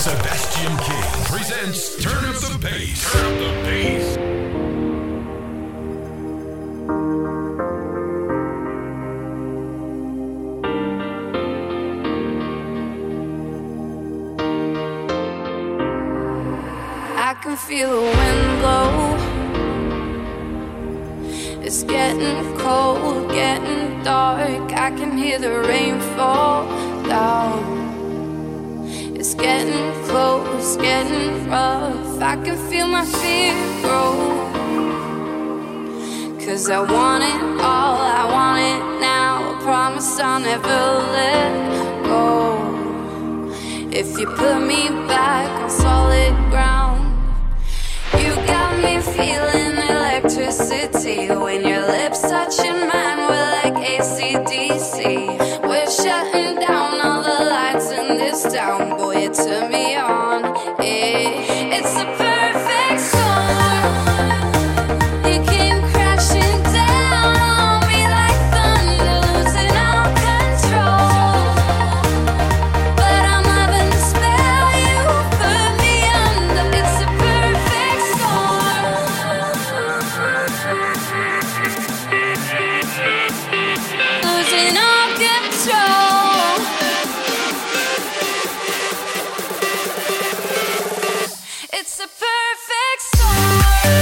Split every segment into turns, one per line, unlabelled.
Sebastian King presents Turn Up the Bass. Turn Up the Bass.
I can feel the wind blow. It's getting cold, getting dark. I can hear the rain fall down. It's getting close, getting rough. I can feel my fear grow. 'Cause I want it all, I want it now. I promise I'll never let go. If you put me back on solid ground. You got me feeling electricity. When your lips touching mine, we're like AC/DC. We're shutting down all the lights in this town. Boy, you turn me on. It's a perfect storm. You came crashing down on me like thunder, losing all control. But I'm loving the spell you put me under. It's a perfect storm. Losing all control. It's a perfect storm.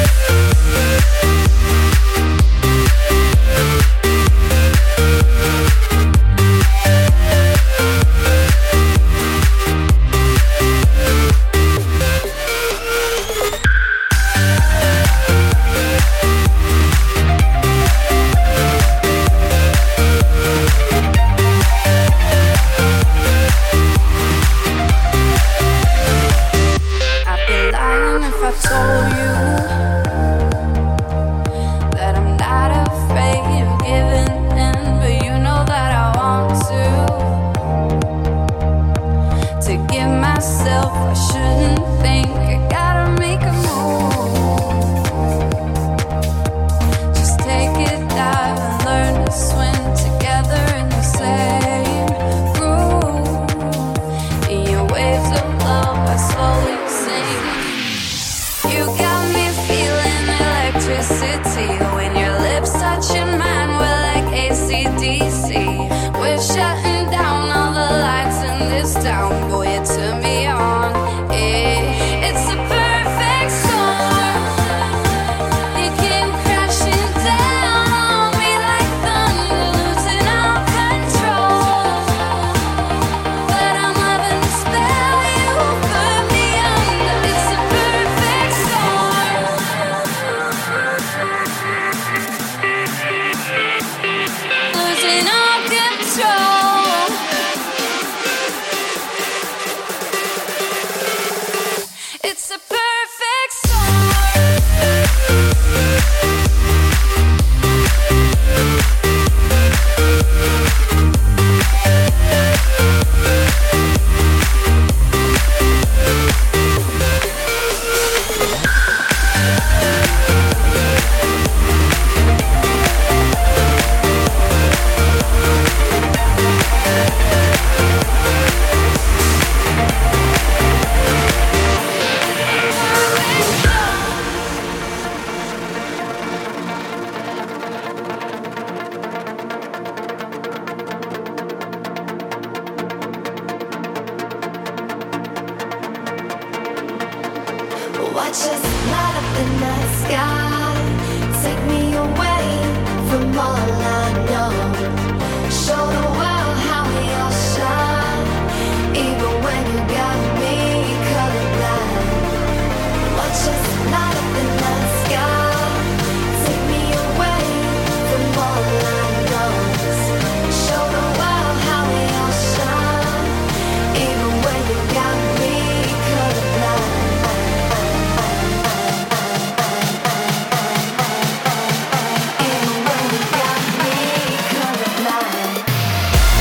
I'd be lying if I told you that I'm not afraid of giving in, but you know that I want to give myself. I shouldn't think I gotta make a move. Just take it dive and learn to swim together in the same groove. In your waves of love, I slowly sink. You got me feeling electricity. When your lips touching mine, we're like AC/DC. We're shutting down all the lights in this town. Boy, you turn me on. It's a perfect storm. You came crashing down on me like thunder, losing all control. But I'm loving the spell you put me under. It's a perfect storm. Losing all control. It's a perfect storm.
Watch us light up the night sky. Take me away from all I know. Show the world how we all shine. Even when you got me colorblind. Watch us light up the night sky. Take me away from all I know. Show the world how we all shine. Even when you got me colorblind. Even when you got me colorblind.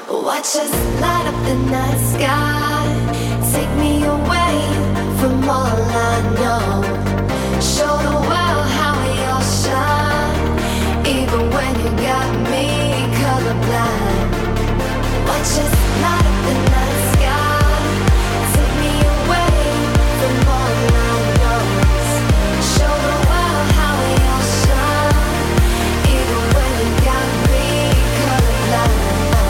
Watch us light up the night sky. Take me away from all I know. Show the world how we all shine. Even when you got me colorblind. Watch us light up the night sky. Take me away from all I know. Show the world how we all shine. Even when you got me colorblind.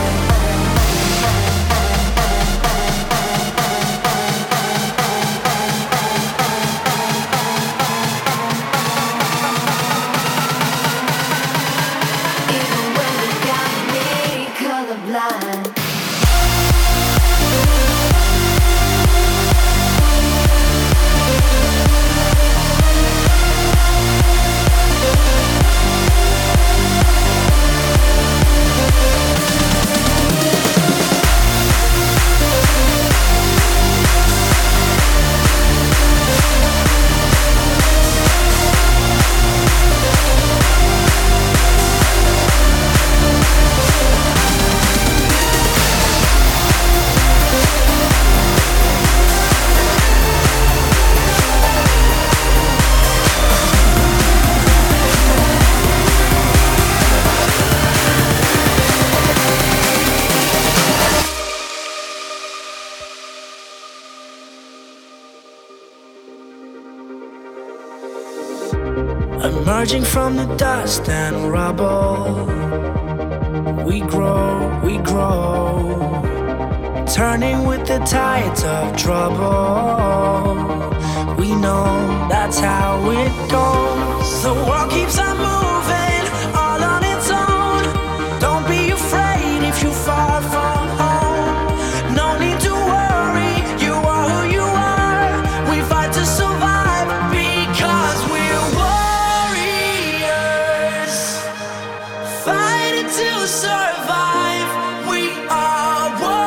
Emerging from the dust and rubble, we grow, turning with the tides of trouble. We know that's how it goes. The world keeps on moving, all on its own. Don't be afraid if you fall from home. No need to worry, you are who you are. We fight to survive because we're warriors. Fighting to survive, we are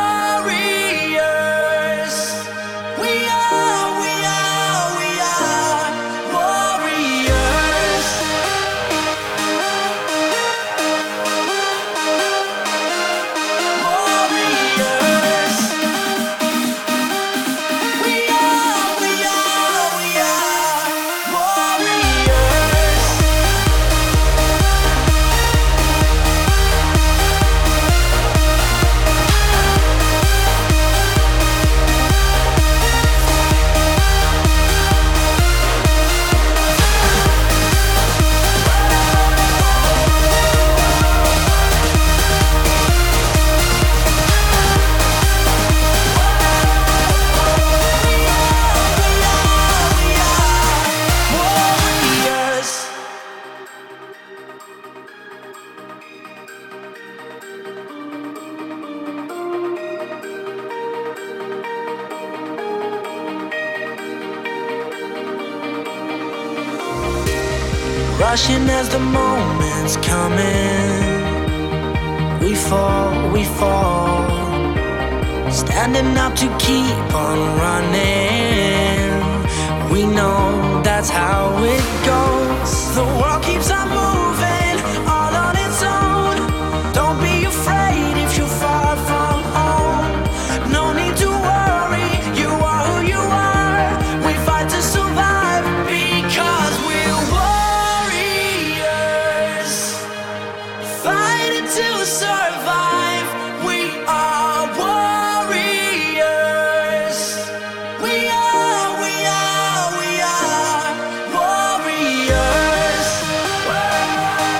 warriors. We are warriors. Warriors. We are warriors. Warriors. Rushing as the moment's coming. We fall. Standing up to keep on running. We know that's how it goes. The world keeps on moving, all on its own. Don't be afraid if you fall from home. No need to worry, you are who you are. We fight to survive because we're warriors. Fighting to survive, we are warriors. We are warriors.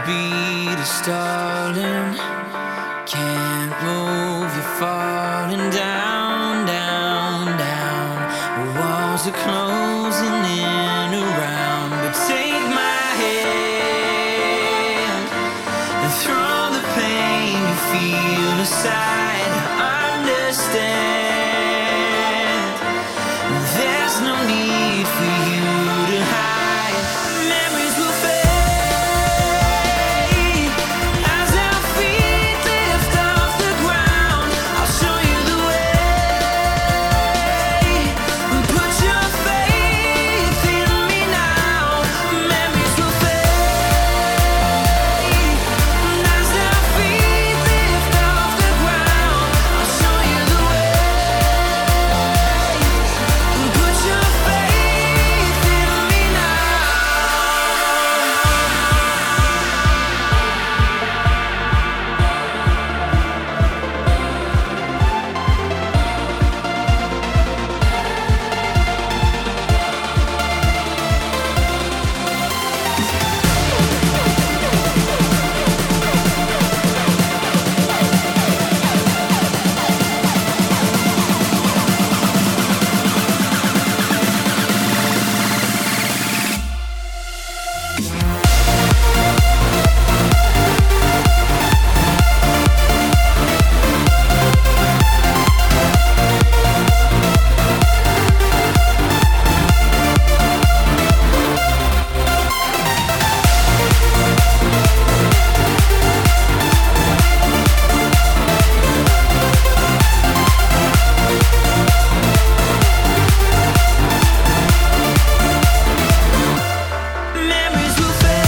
Heartbeat is stalling, can't move, you're falling down, down, down. Walls are closing in around, but take my hand and throw the pain you feel aside. Understand, there's no need for you to hide. Memories will fade as our feet lift off the ground. I'll show you the way. Put your faith in me now. Memories will fade as our feet lift off the ground. I'll show you the way. Put your faith in me now. Memories will fade.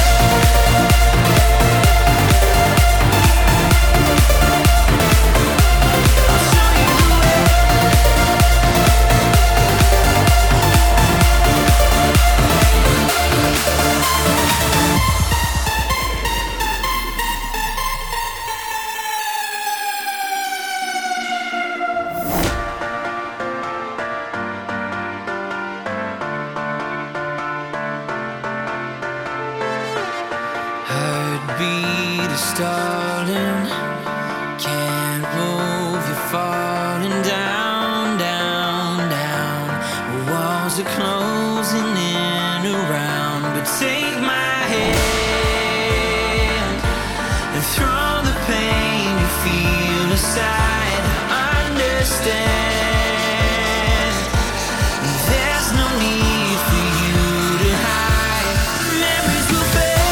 I'll show you the way. Heartbeat is stalling, can't move, you're falling down, down, down. Walls are closing in around, but take my hand and throw the pain you feel aside. Understand, there's no need for you to hide. Memories will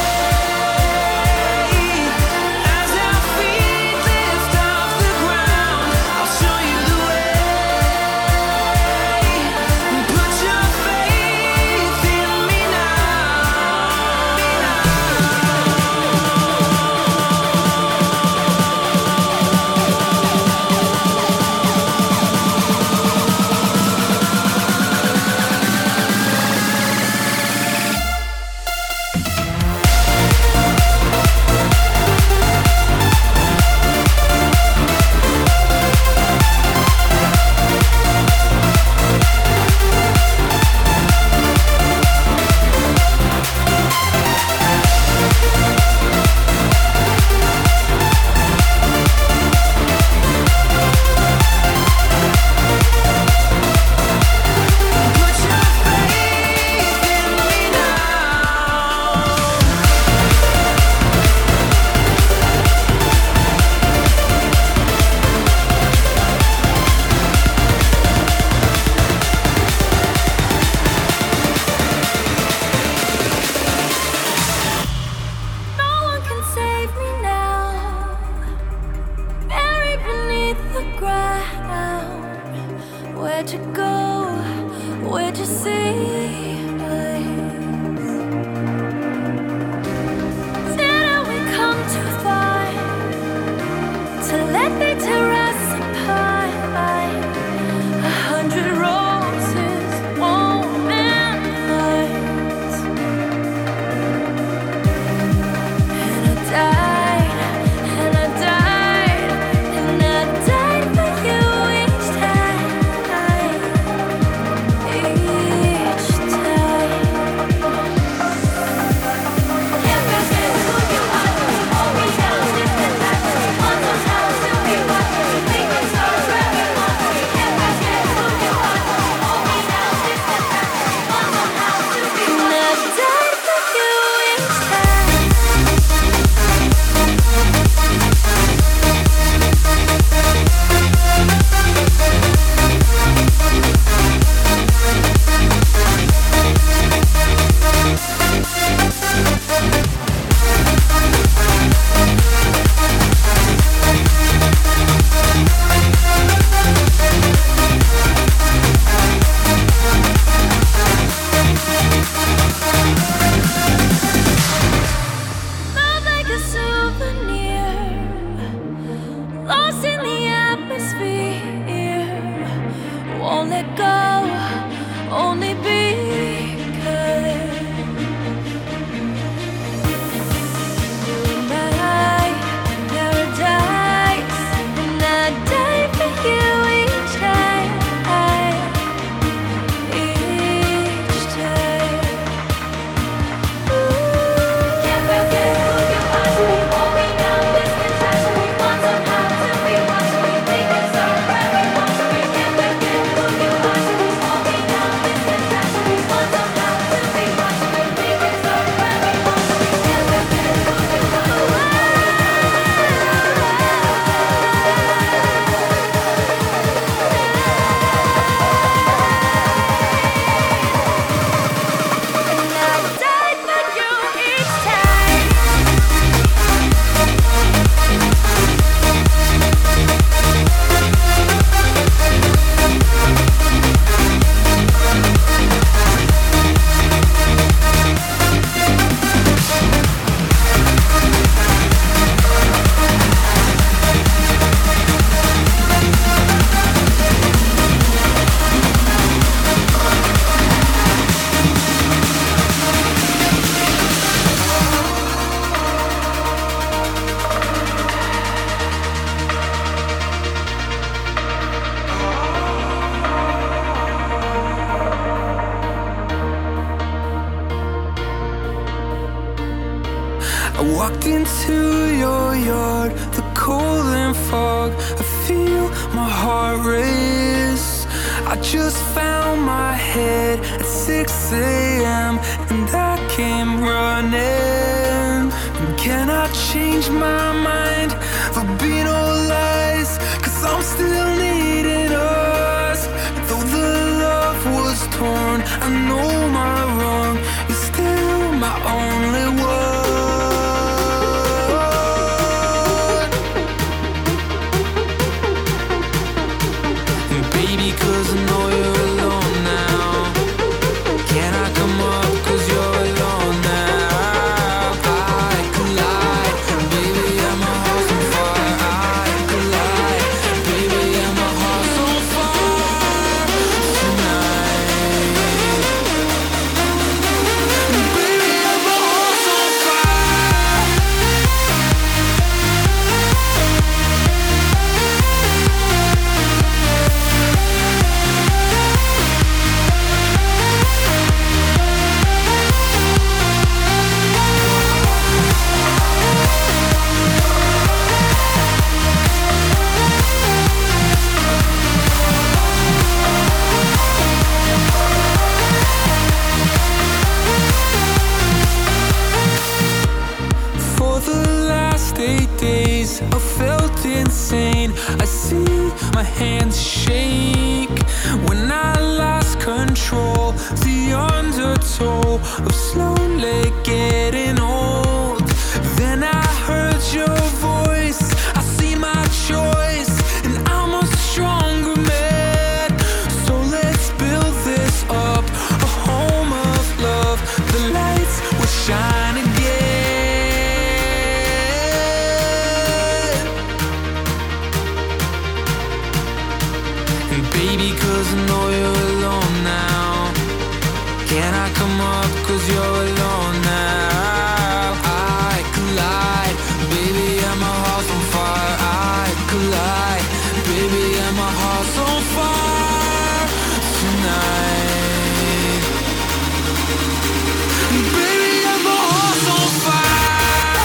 fade as our feet lift off the ground. I'll show you the way. Put your faith in me
No one can save me now. Buried beneath the ground. Where'd you go? Where'd you see? Didn't we come too far to let they tear us apart? 100 roses won't mend hearts. And I died, and I died, and I died for you each time. Each time. won't let go, only because you're my paradise, and I die for you each time, each time. Can't forget who you are, so we walking down this inside, so we want somehow to be one, so we think it's our everyone, so we can't forget who you are, so we walking down this inside, so we want somehow to be one, so we think it's our everyone, so we can't forget who you are. And I die for you each time.
I walked into your yard, the cold and fog. I feel my heart race. I just found my head at 6 a.m. and I came running. And can I change my mind? There'll be no lies, 'cause I'm still needing us. Though the love was torn, I know my wrong is still my only one. Baby, 'cause I know you're alone now. Can I come up 'cause you're alone now? I collide, baby, I'm a house on fire. I collide, baby, I'm a house on fire tonight. Baby, I'm a house on fire. For the last 8 days, I felt insane. I see my hands shake when I lost control. The undertow of slowly getting old. Then I heard your voice. I see my choice, and I'm a stronger man. So let's build this up, a home of love. The lights will shine again. And baby, 'cause I know you're alone now. Can I come up 'cause you're alone now? I collide, baby, I'm a house on fire. I collide, baby, I'm a house on fire tonight. Baby, I'm a house on fire.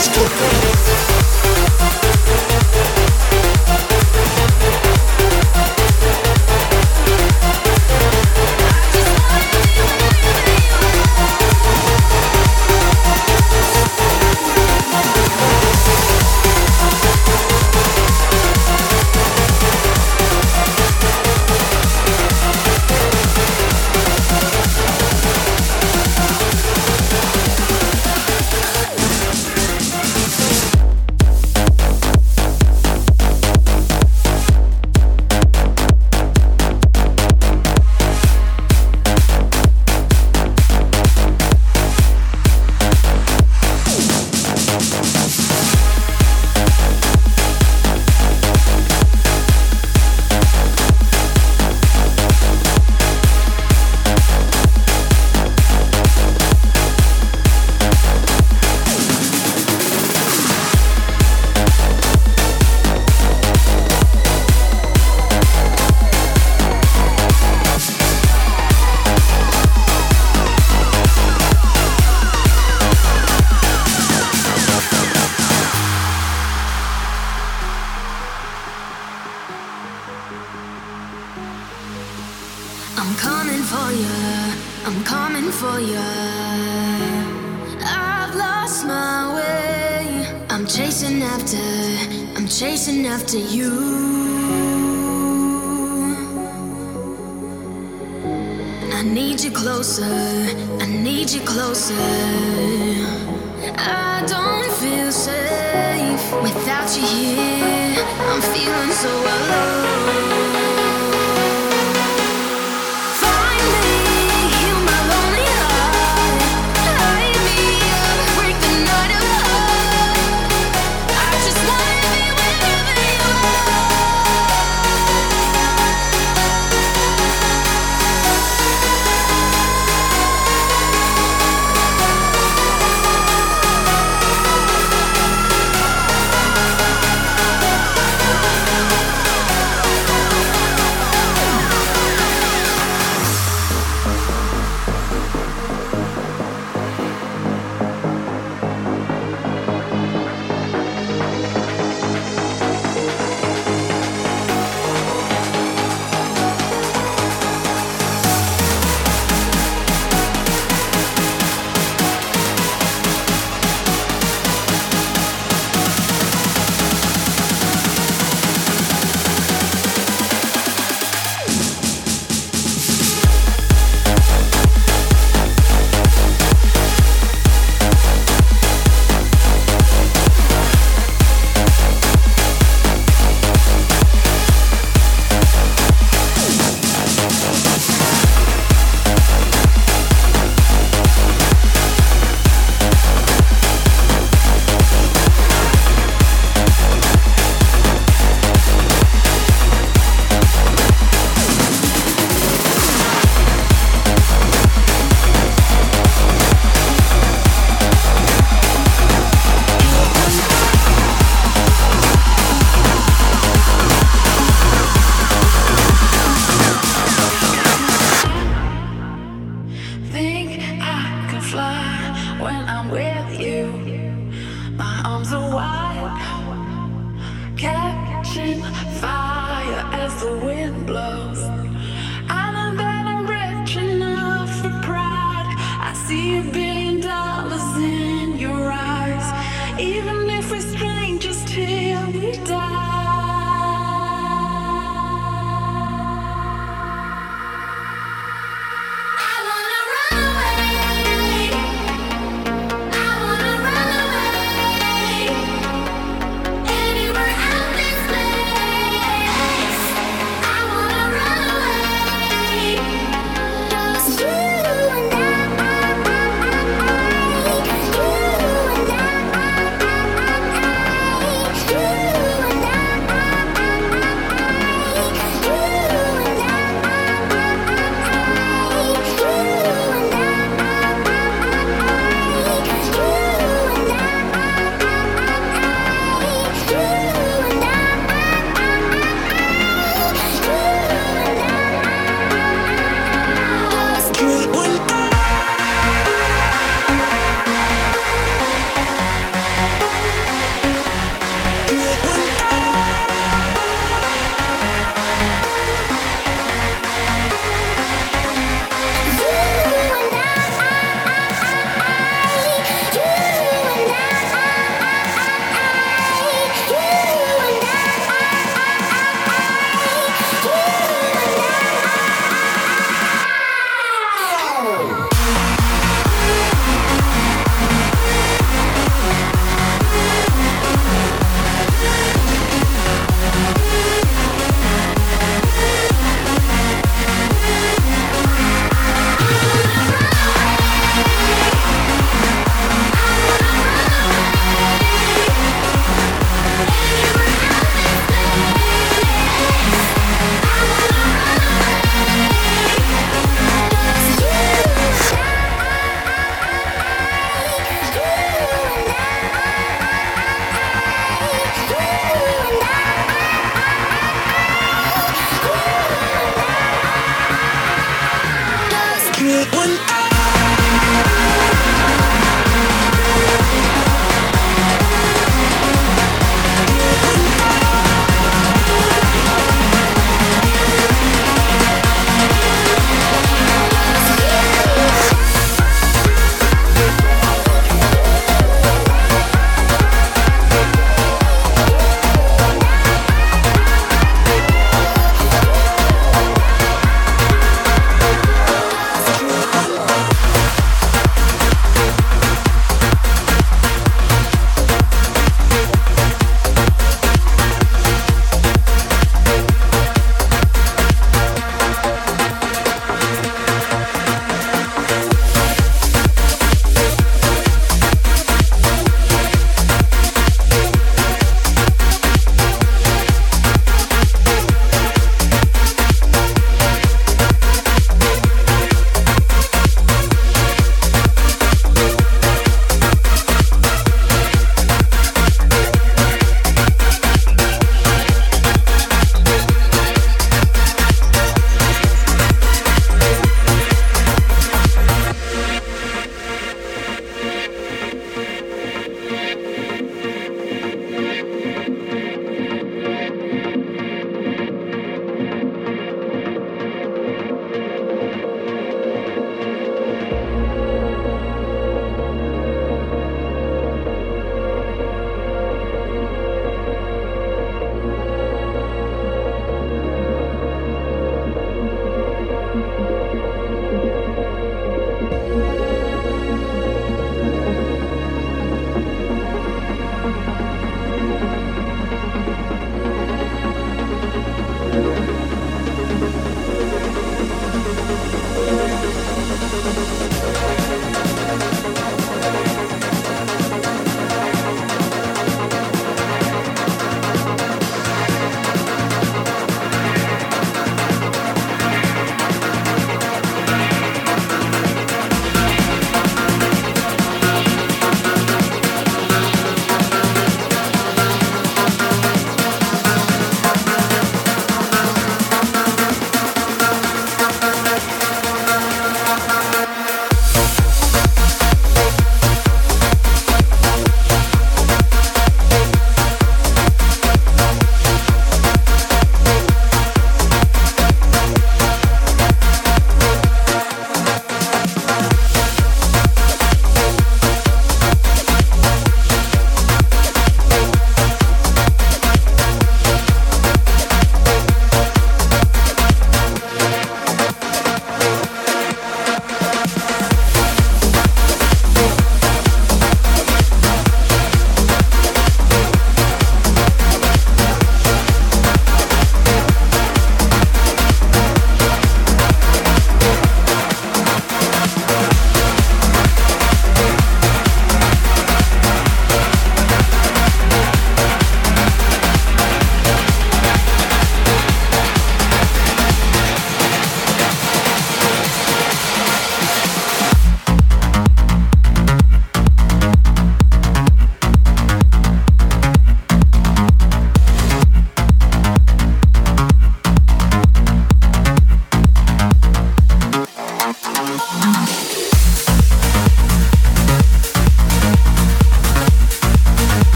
chasing after you. I need you closer, I need you closer. I don't feel safe without you here. I'm feeling so alone.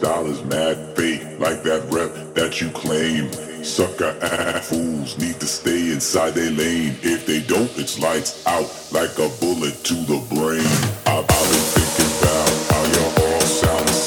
style is mad fake, like that rep that you claim. Sucker ass fools need to stay inside their lane. If they don't, it's lights out, like a bullet to the brain. I've been thinking about how you're all sound